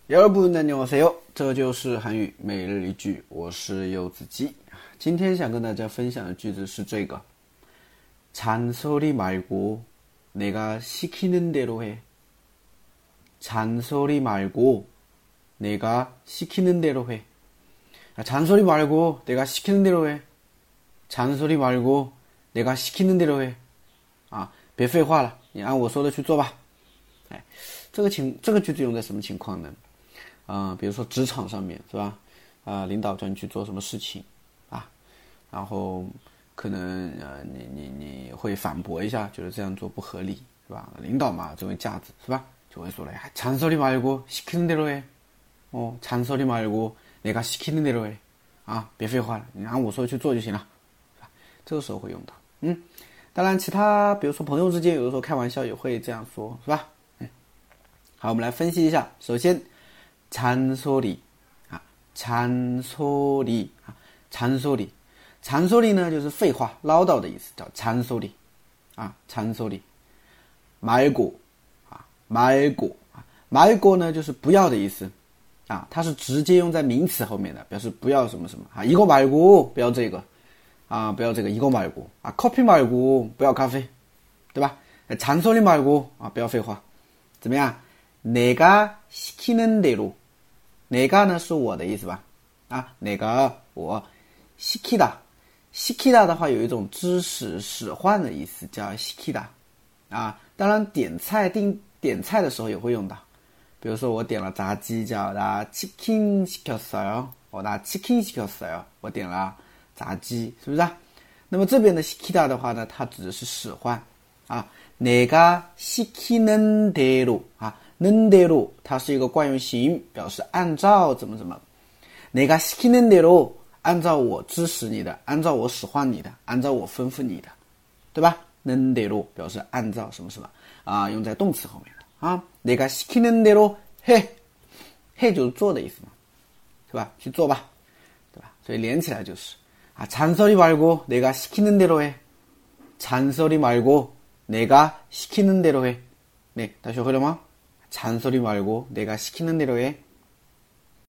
여러분 안녕하세요，这就是韩语每日一句，我是柚子鸡。今天想跟大家分享的句子是这个잔소리 말고 내가 시키는 대로 해. 잔소리 말고 내가 시키는 대로 해. 잔소리 말고 내가 시키는 대로 해. 잔소리 말고 내가 시키는 대로 해. 别废话了，你按我说的去做吧。这个句子用在什么情况呢？比如说职场上面是吧？领导叫你去做什么事情然后可能你会反驳一下，觉得这样做不合理是吧？领导嘛，这位架子是吧？就会说了，잔소리 말고 시키는 대로 해. 잔소리 말고 내가 시키는 대로 해. 别废话了，你按我说的去做就行了，是吧？这个时候会用到。当然其他比如说朋友之间有的时候开玩笑也会这样说，是吧？好，我们来分析一下。首先잔소리 잔소리 잔소리呢就是废话唠叨的意思，叫잔소리 잔소리 말고 말고呢就是不要的意思它是直接用在名词后面的，表示不要什么什么이거 말고不要这个不要这个이거 말고 커피 말고不要咖啡，对吧？잔소리 말고不要废话，怎么样？내가 시키는 대로 내가呢是我的意思吧내가我시키다的话有一种指使使唤的意思，叫시키다当然点菜的时候也会用到，比如说我点了炸鸡叫나 치킨 시켰어요，나 치킨 시켰어요，我点了炸鸡，是不是那么这边的시키다的话呢，它指的是使唤내가 시키는 대로 는 대로它是一个惯用型，表示按照怎么怎么。내가 시키는 대로按照我指使你的，按照我使唤你的，按照我吩咐你的，对吧？는 대로表示按照什么什么用在动词后面的내가 시키는 대로 해就是做的意思嘛，是吧？去做吧，对吧？所以连起来就是잔소리 말고 내가 시키는 대로 해. 잔소리 말고 내가 시키는 대로 해. 네, 다学会了吗？잔소리 말고 내가 시키는 대로 해.